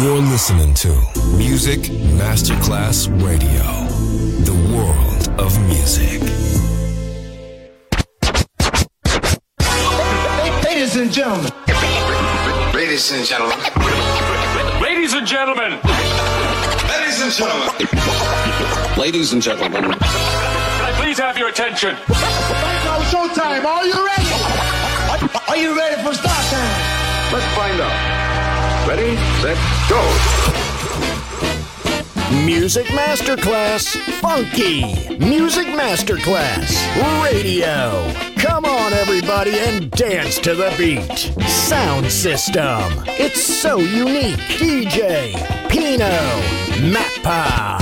You're listening to Music Masterclass Radio, the world of music. Ladies and gentlemen. Ladies and gentlemen. Ladies and gentlemen. Ladies and gentlemen. Ladies and gentlemen. Can I please have your attention? Right now, showtime. Are you ready? Are you ready for start time? Let's find out. Ready, set, go. Music Masterclass Funky. Music Masterclass Radio. Come on, everybody, and dance to the beat. Sound system. It's so unique. DJ Pino Mappa.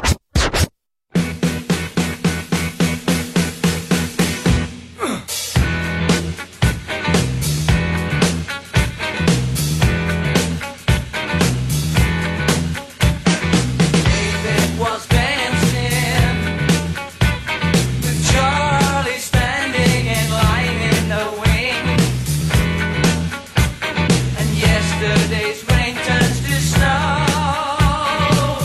Yesterday's rain turns to snow.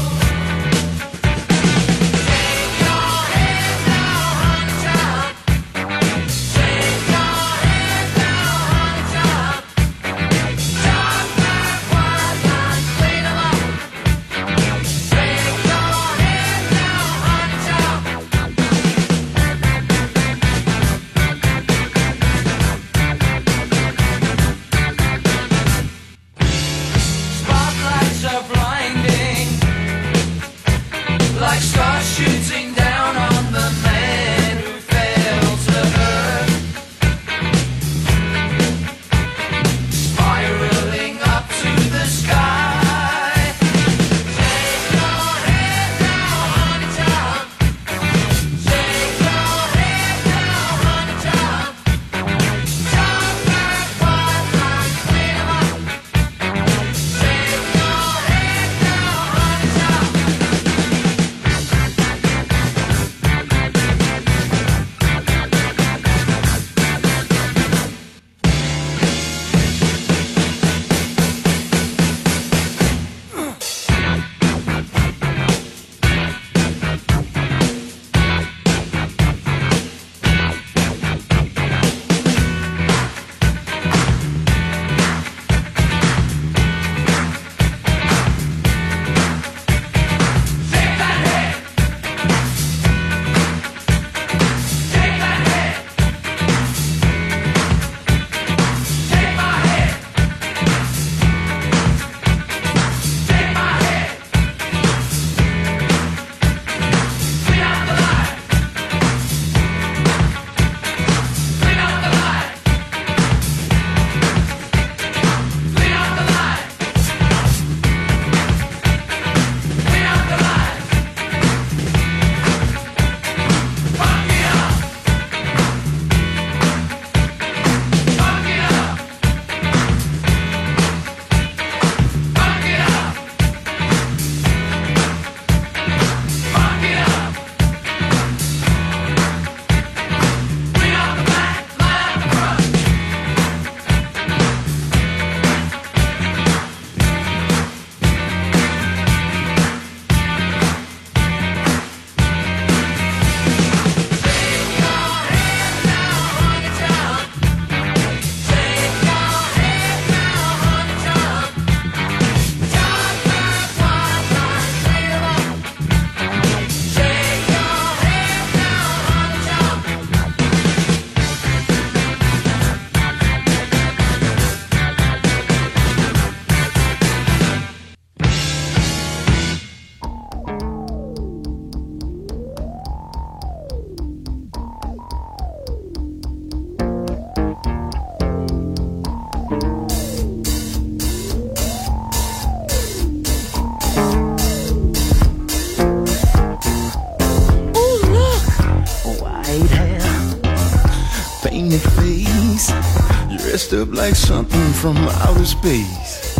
dressed up like something from outer space.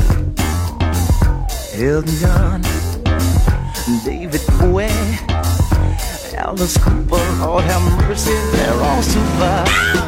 Elton John, David Bowie, Alice Cooper, Lord have mercy, they're all survived.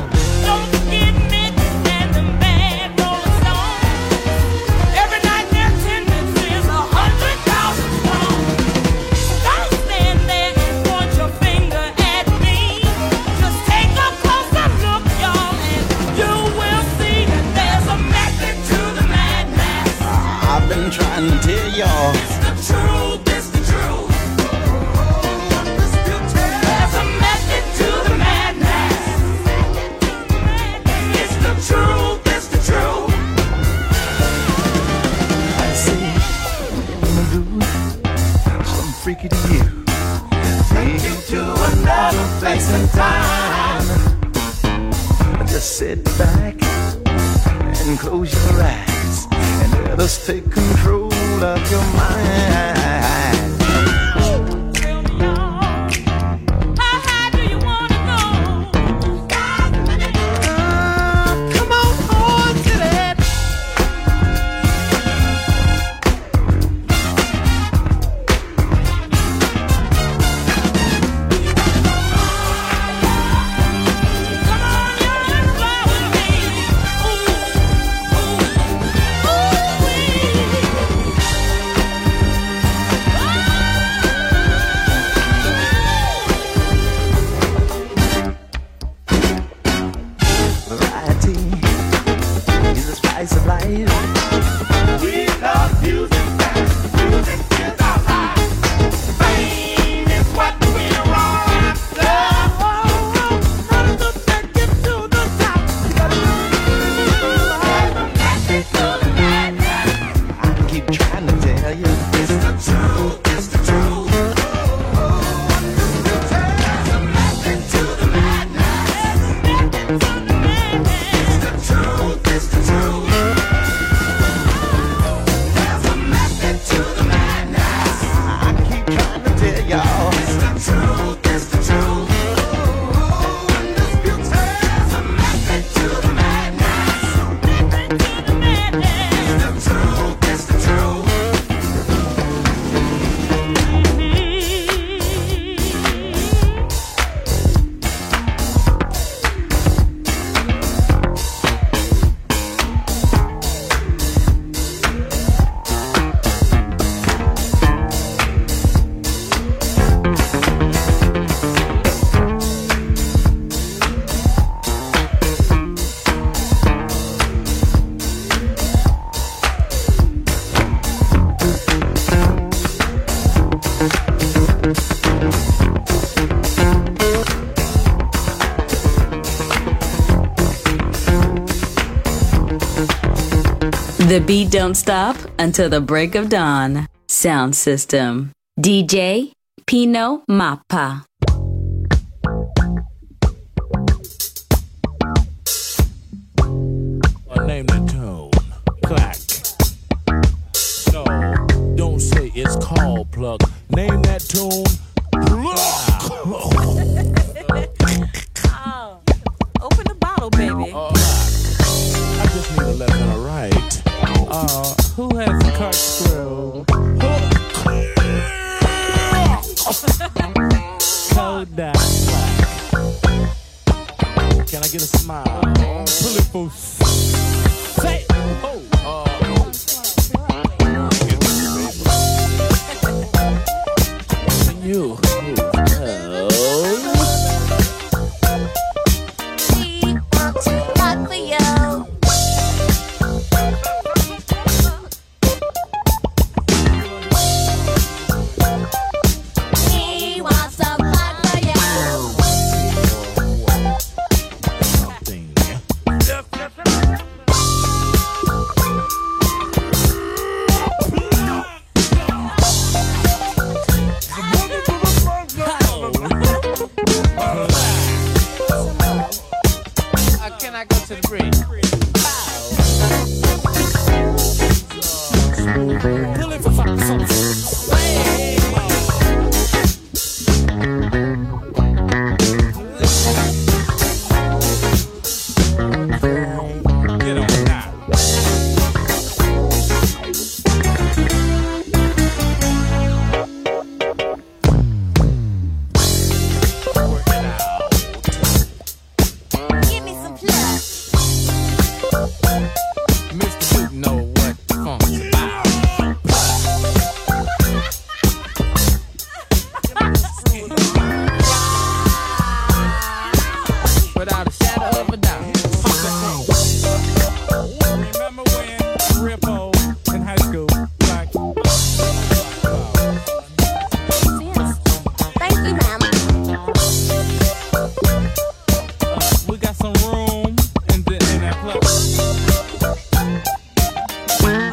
trying to tell y'all. It's the truth, it's the truth. There's a method to the madness. It's the truth, it's the truth. I say, I'm gonna do something freaky to you. Take you to another place and time. Just sit back and close your eyes and let us take control of your mind. How high do you want to go? Come on to that. Variety is the spice of life. We love music, and music is our life. Fame is what we're all after. How to take it to the top. There's a method to the madness. I keep trying to tell you. It's the truth, it's the truth. There's a method to the madness. It's the truth, it's the truth. There's a method to the madness. I keep trying to tell y'all. It's the truth, it's the truth. There's a method to the madness. It's the truth, it's the truth. The beat don't stop until the break of dawn. Sound system. DJ Pino Mappa. Name the tune. Clack. No, don't say it's called pluck. Name that tune. Pluck. Oh, open the bottle, baby. I just need a left and a right. Who has the corkscrew? Kodak. Can I get a smile? Pull it for say. You. Can I go to the bridge? Pull it for get on now. Work it out. Give me some plus.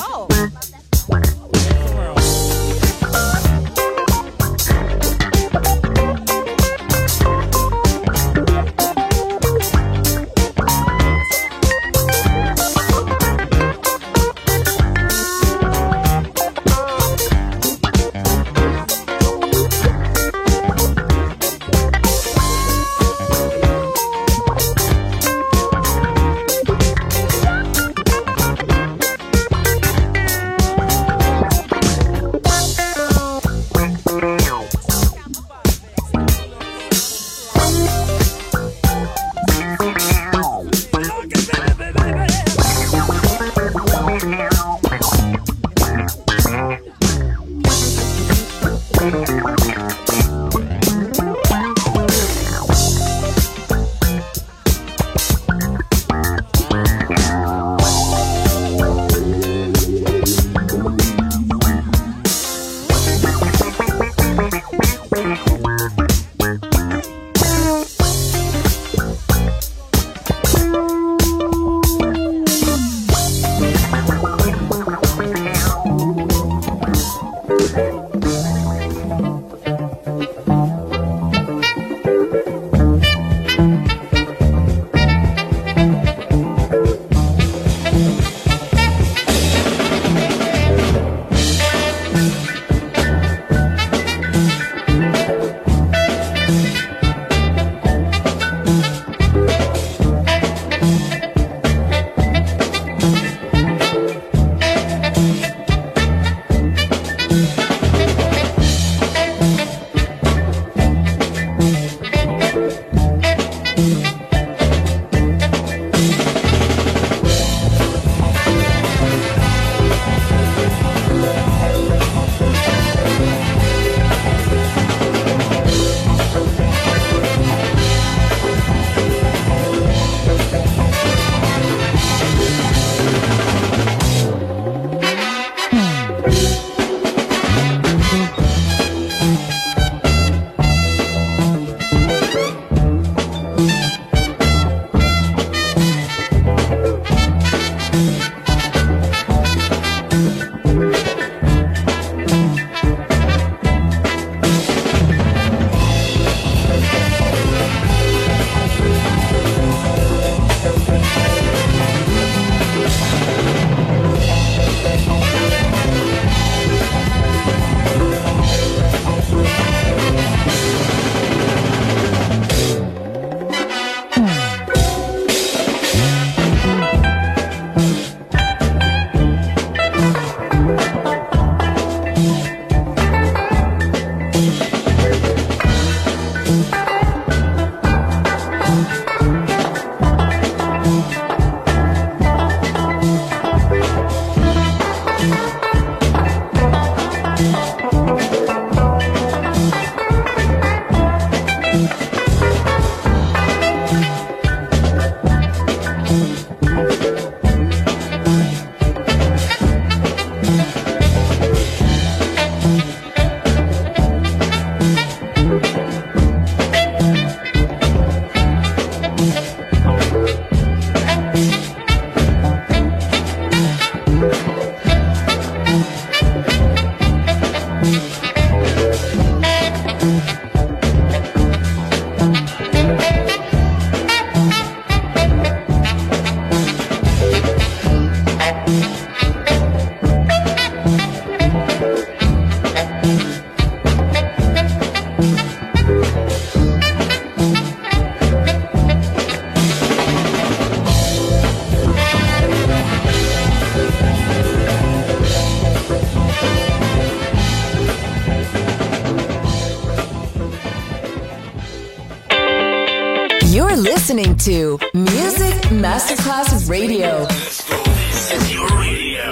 You're listening to Music Masterclass Radio. This is your radio.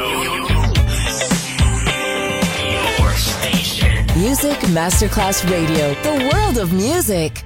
Your station. Music Masterclass Radio. The world of music.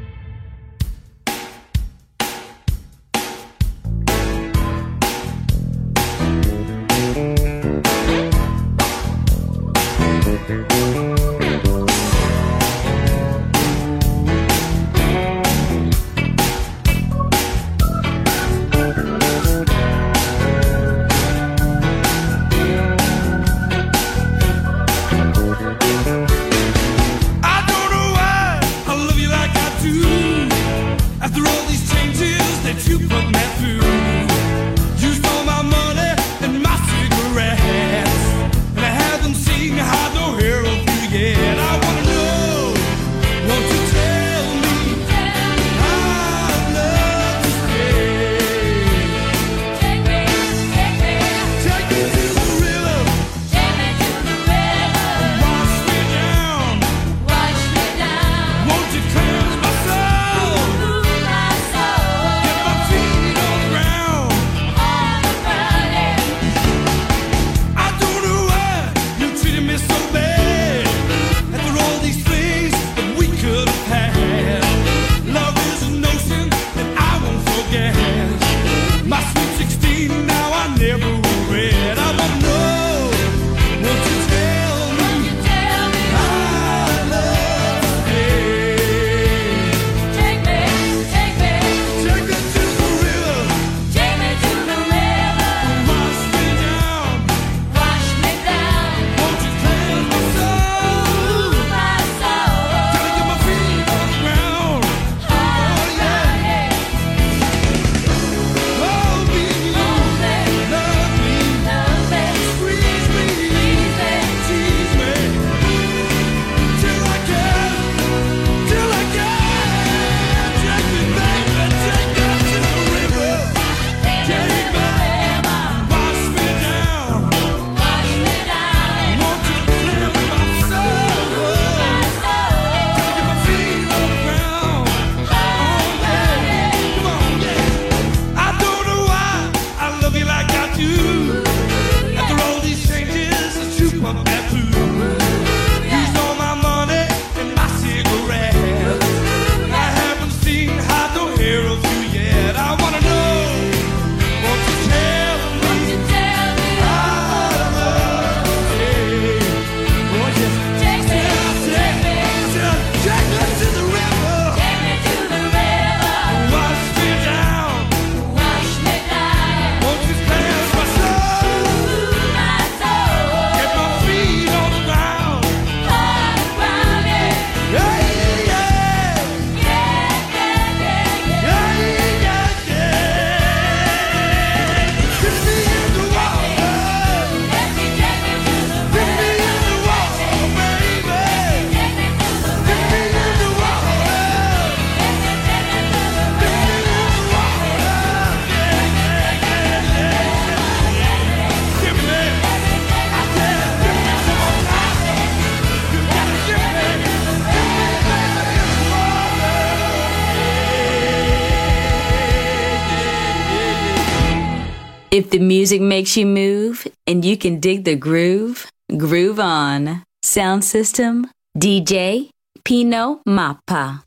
If the music makes you move and you can dig the groove, groove on. Sound system, DJ Pino Mappa.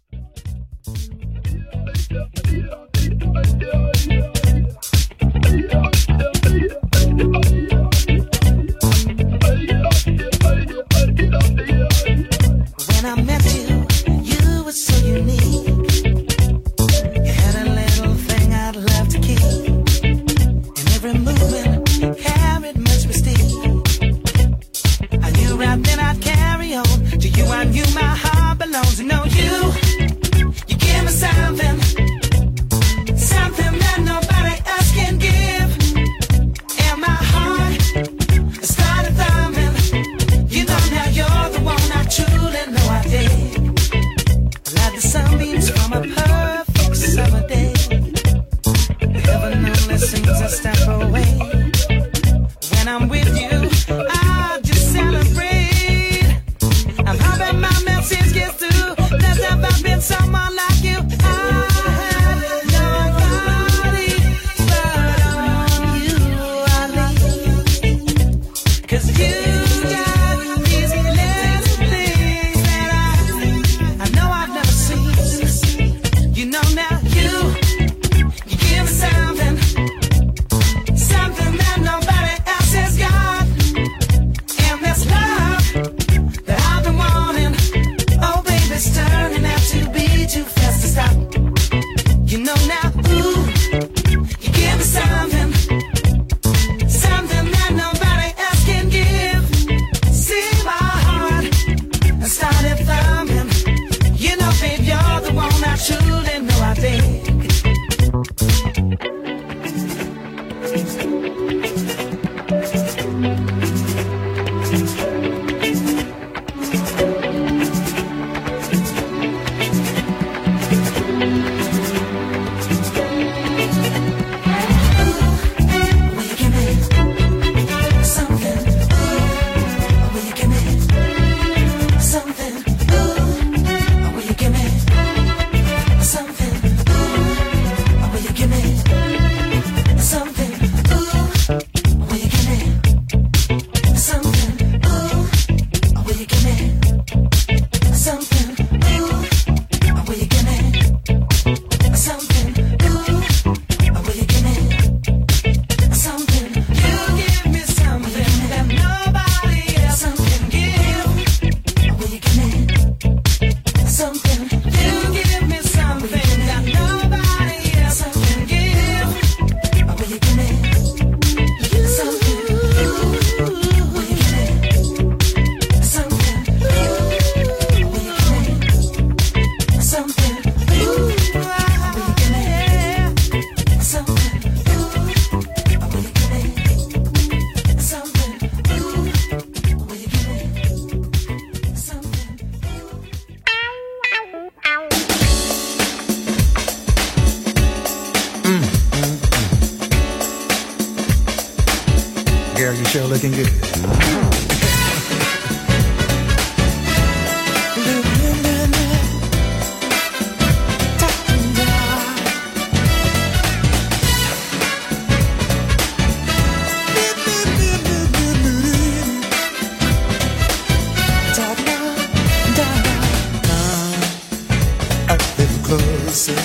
When I met you, you were so unique. You had a little thing I'd love to keep. And every movement carried much mystique. I knew right then I'd carry on. To you I knew my heart belongs. To know you give me something, something that nobody else can give. And my heart started thumping. You know now you're the one I truly know I dig. Like the sunbeams from a perfect summer day. Heaven only seems a step away. When I'm with you, I just celebrate. I'm hoping my message gets through. There's never been someone like you. I had nobody but on you I lean. 'Cause you got these little things that I know I've never seen. You know now you give me something, something that nobody else has got. And this love that I've been wanting, oh baby, it's turning out to be too fast to stop. You know now, ooh, you give me something, something that nobody else can give. See my heart, I started thumbing. You know, babe, you're the one I truly know I dig. Girl, you sure looking good. A little closer.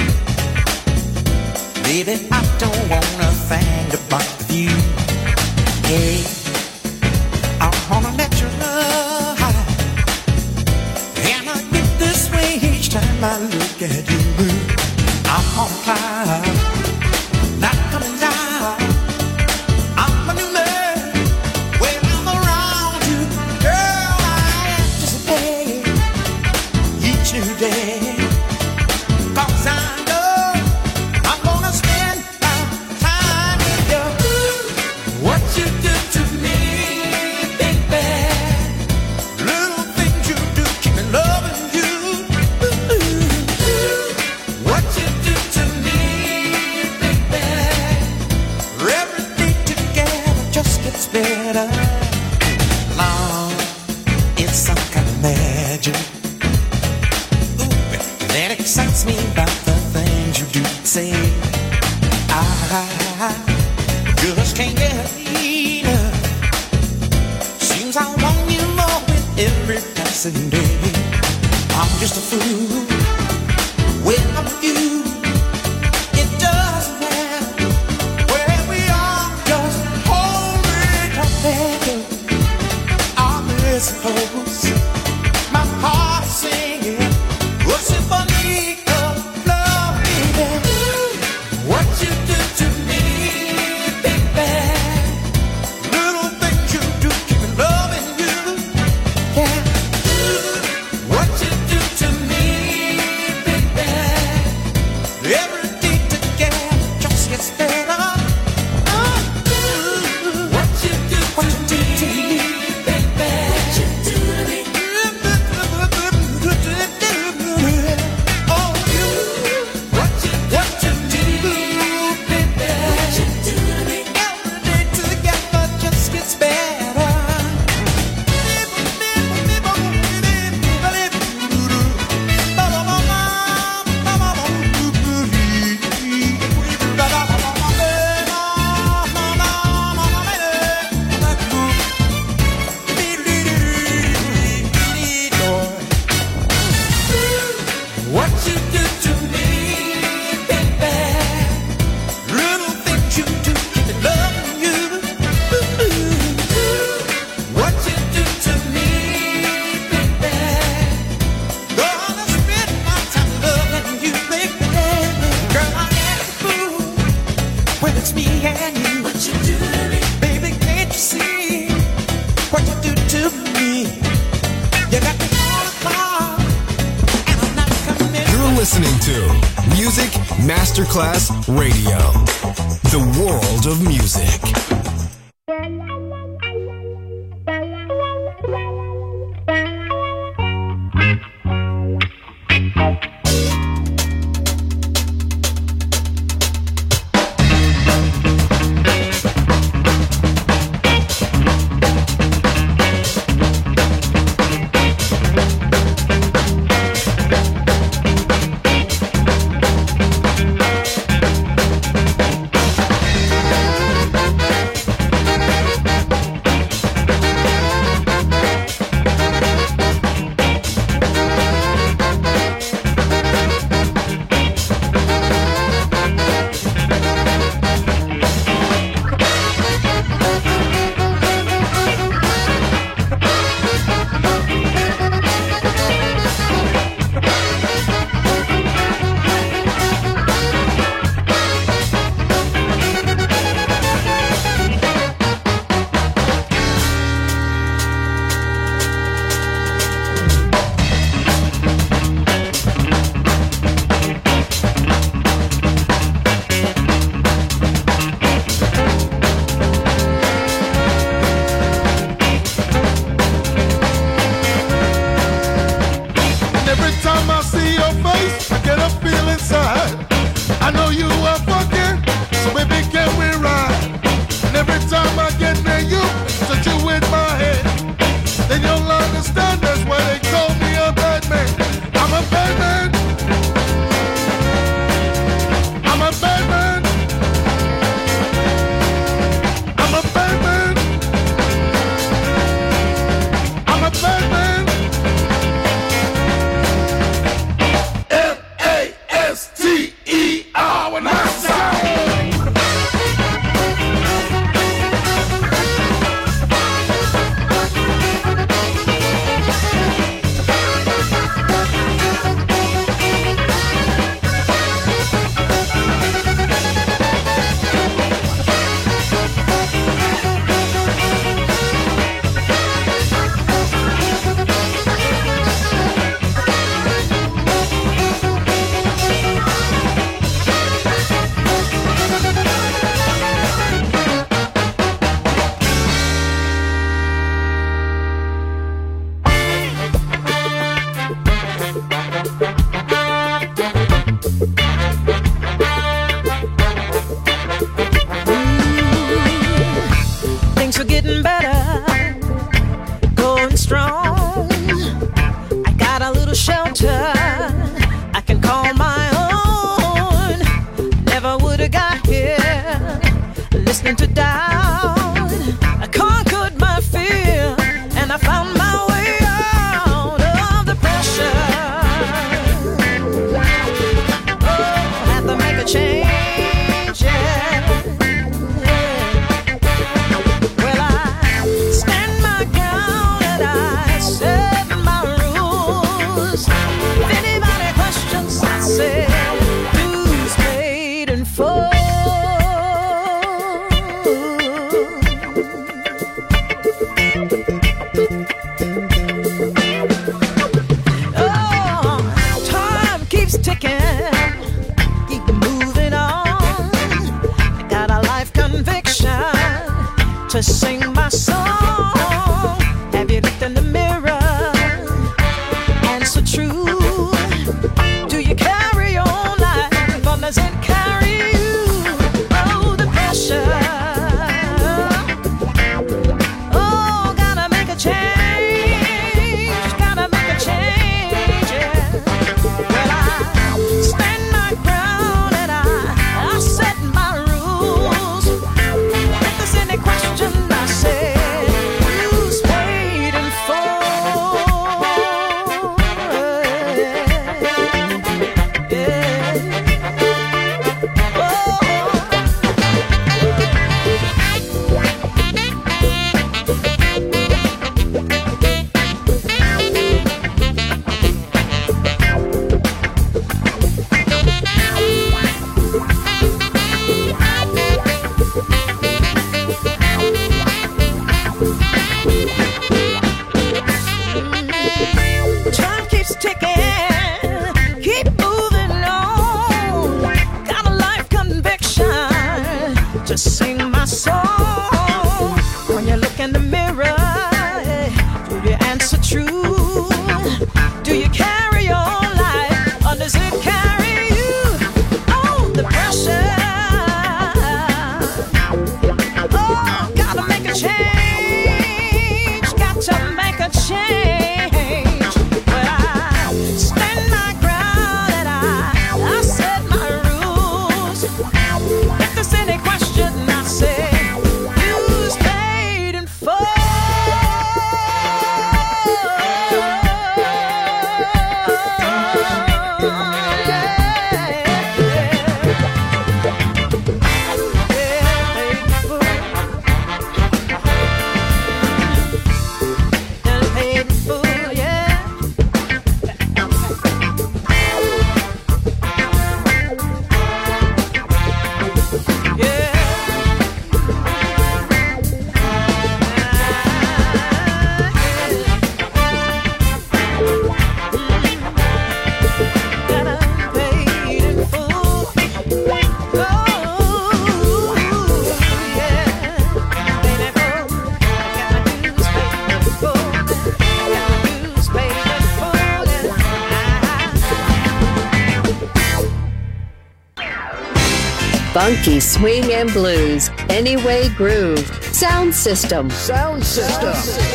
Baby, I don't wanna think about you. Hey, I wanna let your love high. And I get this way each time I look at you. I'm on cloud, not coming down. I'm a new man when I'm around you. Girl, I anticipate each new day. 'Cause I know I'm gonna spend my time with you. What you do to me, baby. Little things you do keep me loving you. What you do to me, baby. Every day together just gets better. Love, it's some kind of magic. Ooh, that excites me about the things you do say. can't get enough. Seems I want you more with every passing day. I'm just a fool without you. It doesn't matter where we are, just hold me together. I suppose my heart is singing a symphony of love, baby. What you do to me, baby. Little things you do, keep me loving you. Yeah. What you do to me, baby. Every day together just gets better. What you do to me, baby. What you do to me, baby. Little things you do, keep me loving you. What you do to me, baby. Gonna spend my time loving you, baby. Girl, I act a fool when it's me and you. What you do to me, baby? Can't you see what you do to me? You got me all apart. You're listening to Music Masterclass Radio, the world of music. Funky swing and blues, Anyway Groove, Sound System. Sound System.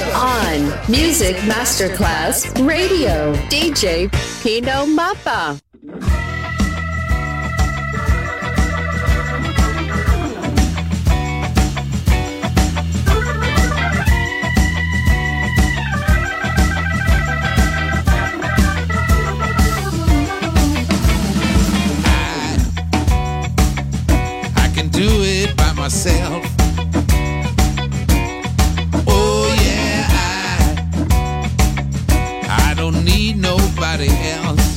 On Music Masterclass Radio, DJ Pino Mappa. Do it by myself. Oh yeah, I don't need nobody else.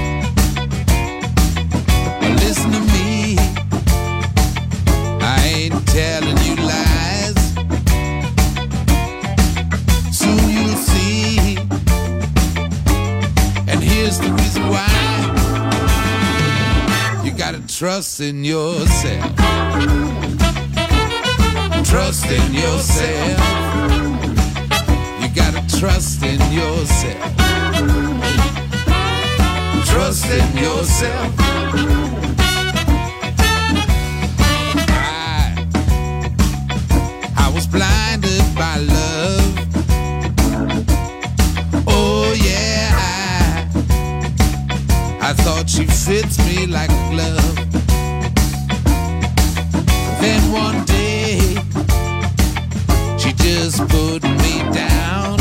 But listen to me, I ain't telling you lies. Soon you'll see, and here's the reason why. You gotta trust in yourself. Trust in yourself. You gotta trust in yourself. Trust in yourself. I was blinded by love. Oh yeah, I thought she fits me like a glove. Then one day she just put me down.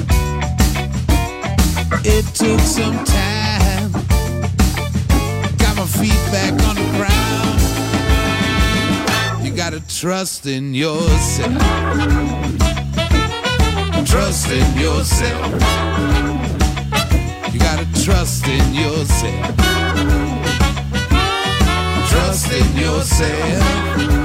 It took some time, got my feet back on the ground. You gotta trust in yourself. Trust in yourself. You gotta trust in yourself. Trust in yourself.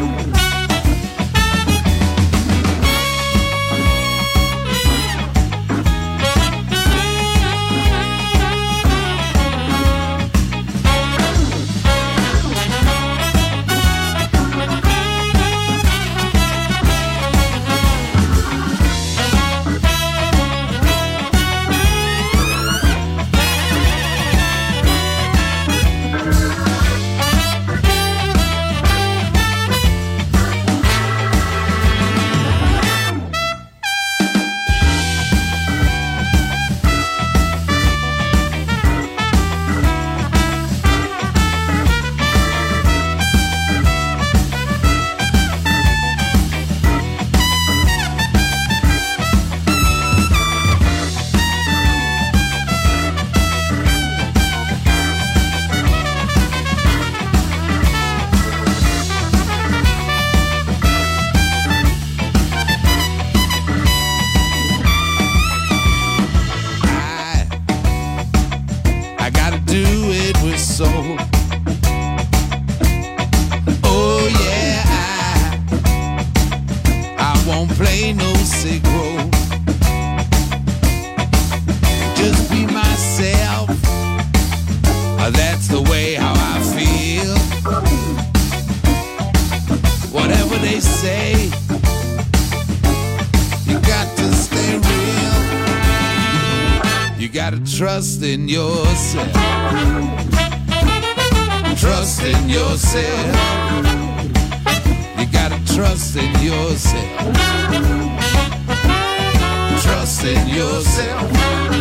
gotta trust in yourself. Trust in yourself. You gotta trust in yourself. Trust in yourself.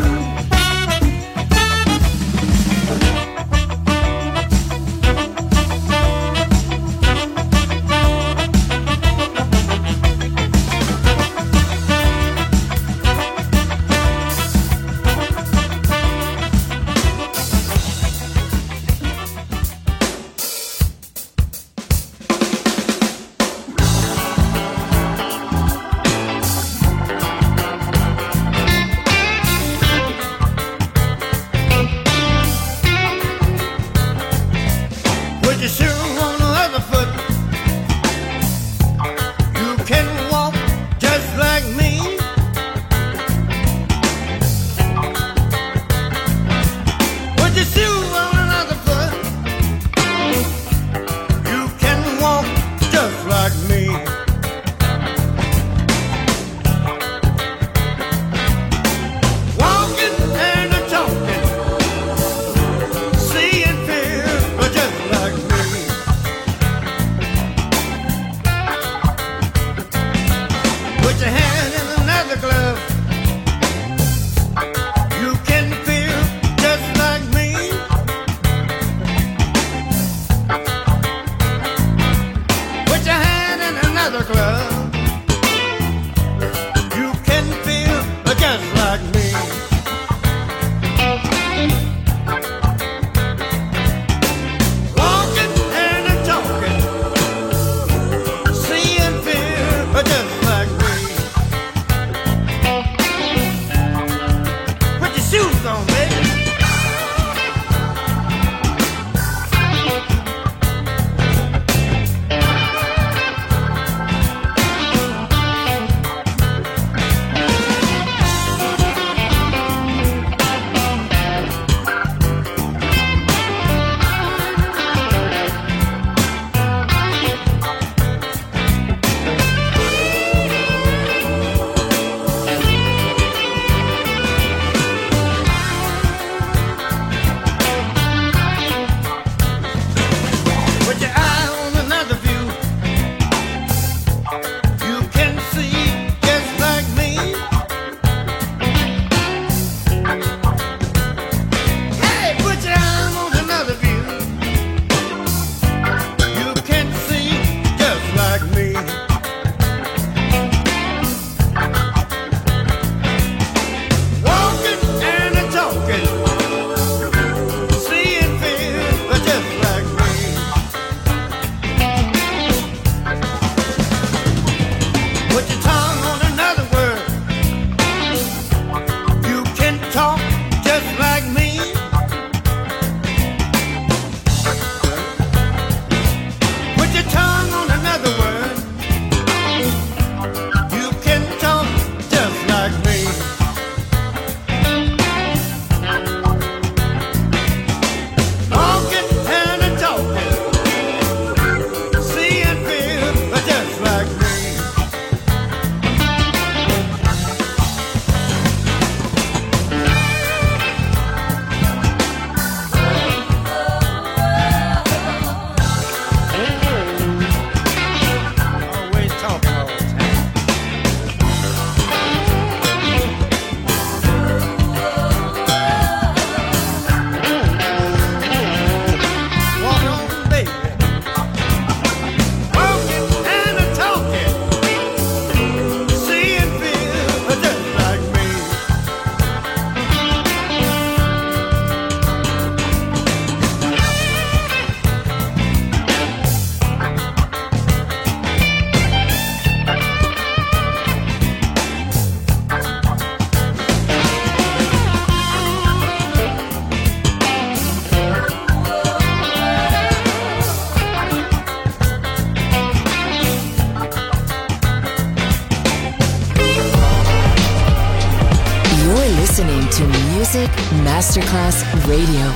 listening to Music Masterclass Radio.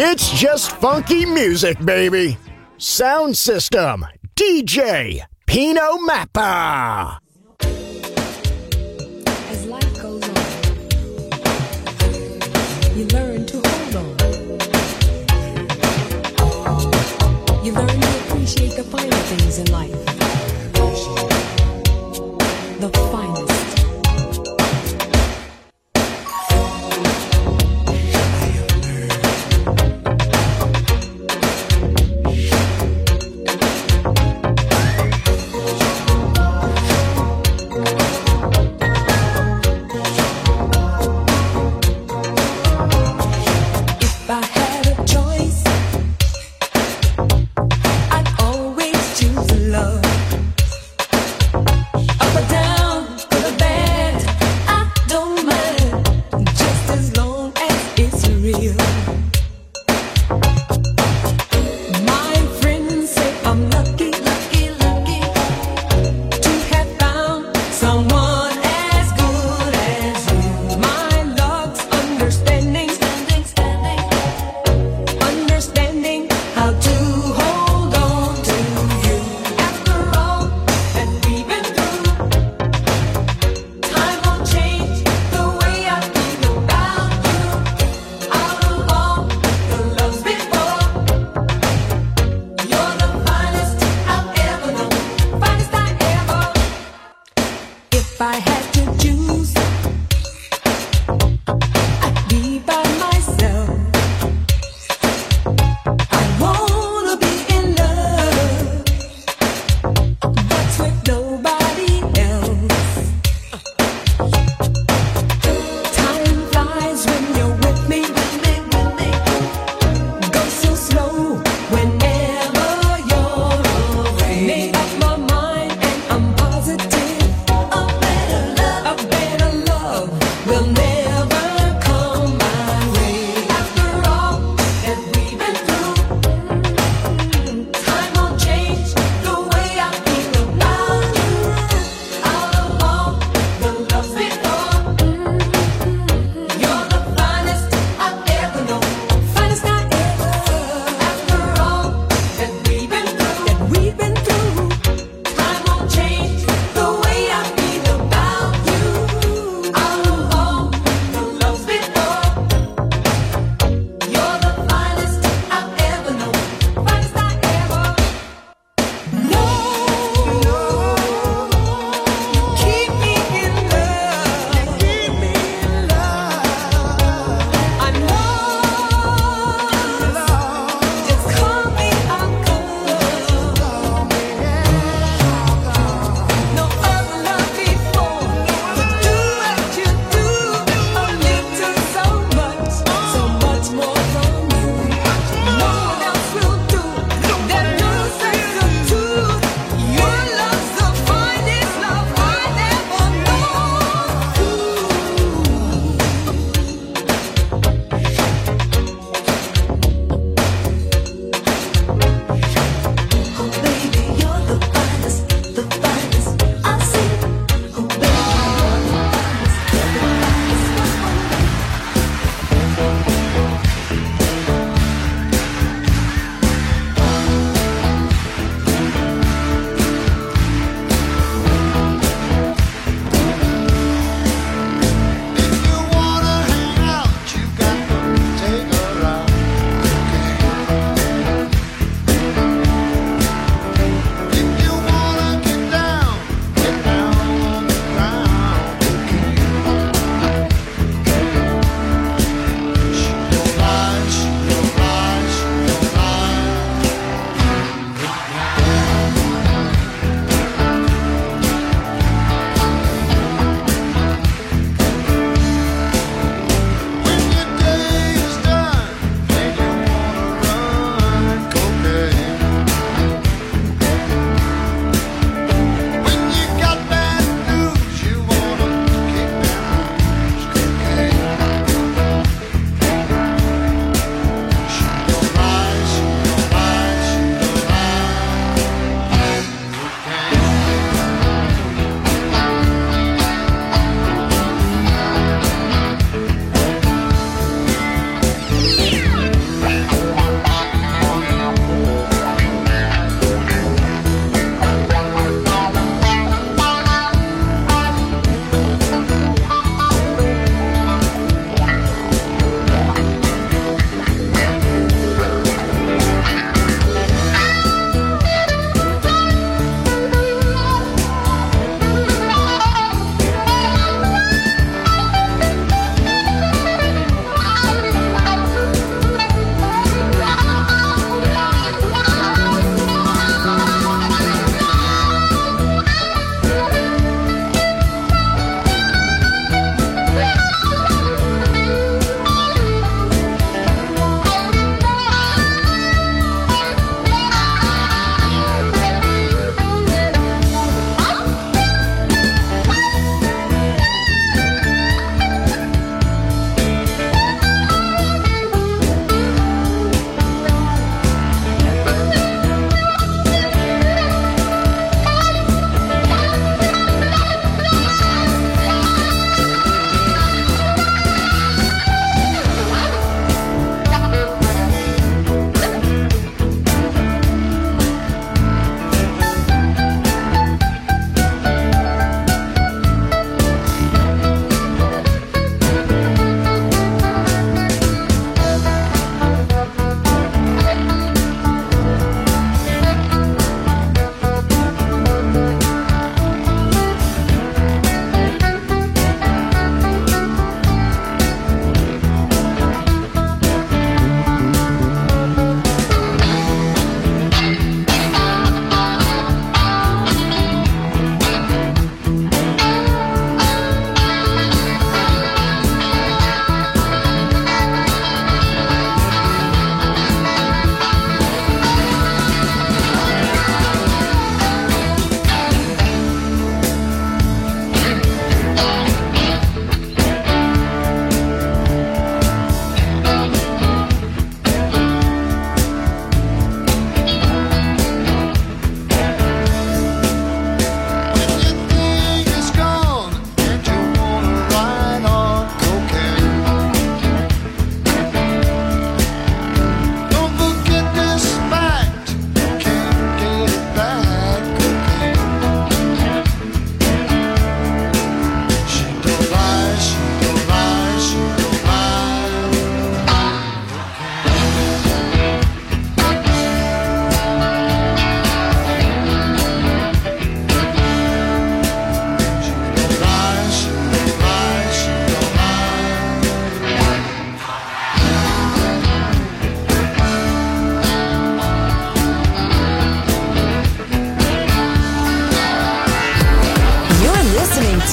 It's just funky music, baby. Sound System, DJ Pino Mappa. As life goes on, you learn to hold on. You learn to appreciate the finer things in life. The finest. If I had a choice, I'd always choose love.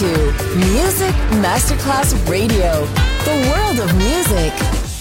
to Music Masterclass Radio, the world of music.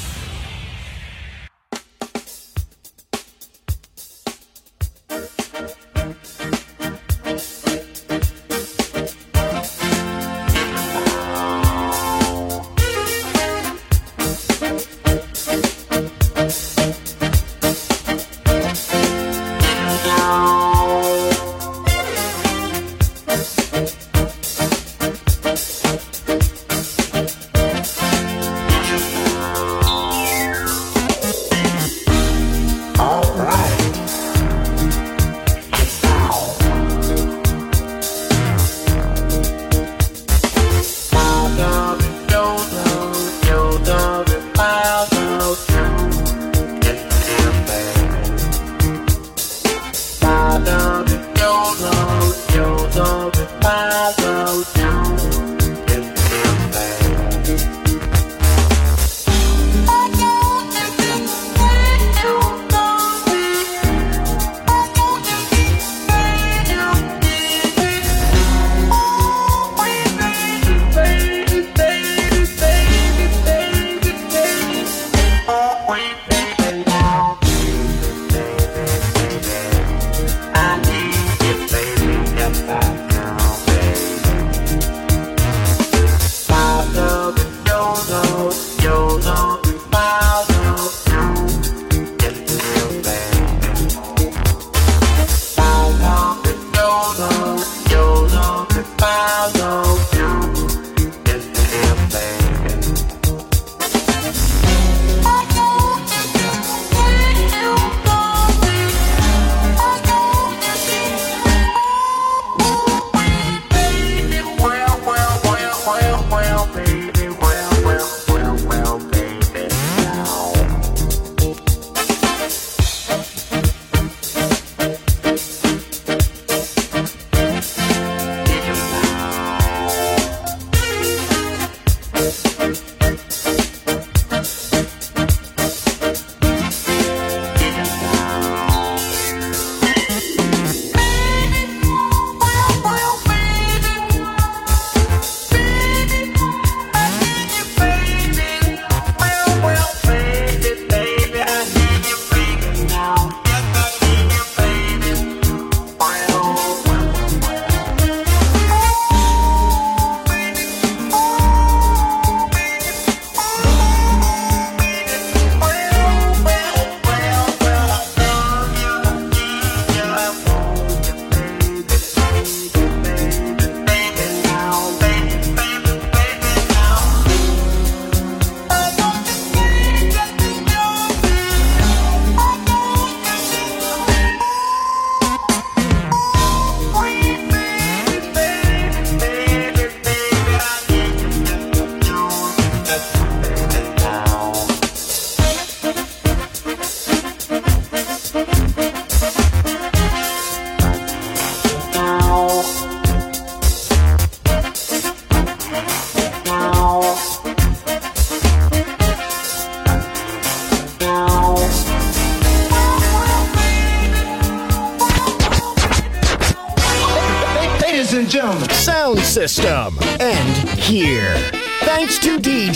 Sound System. And here, thanks to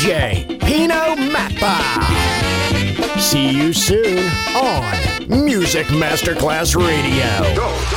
DJ Pino Mappa. See you soon on Music Masterclass Radio. Go.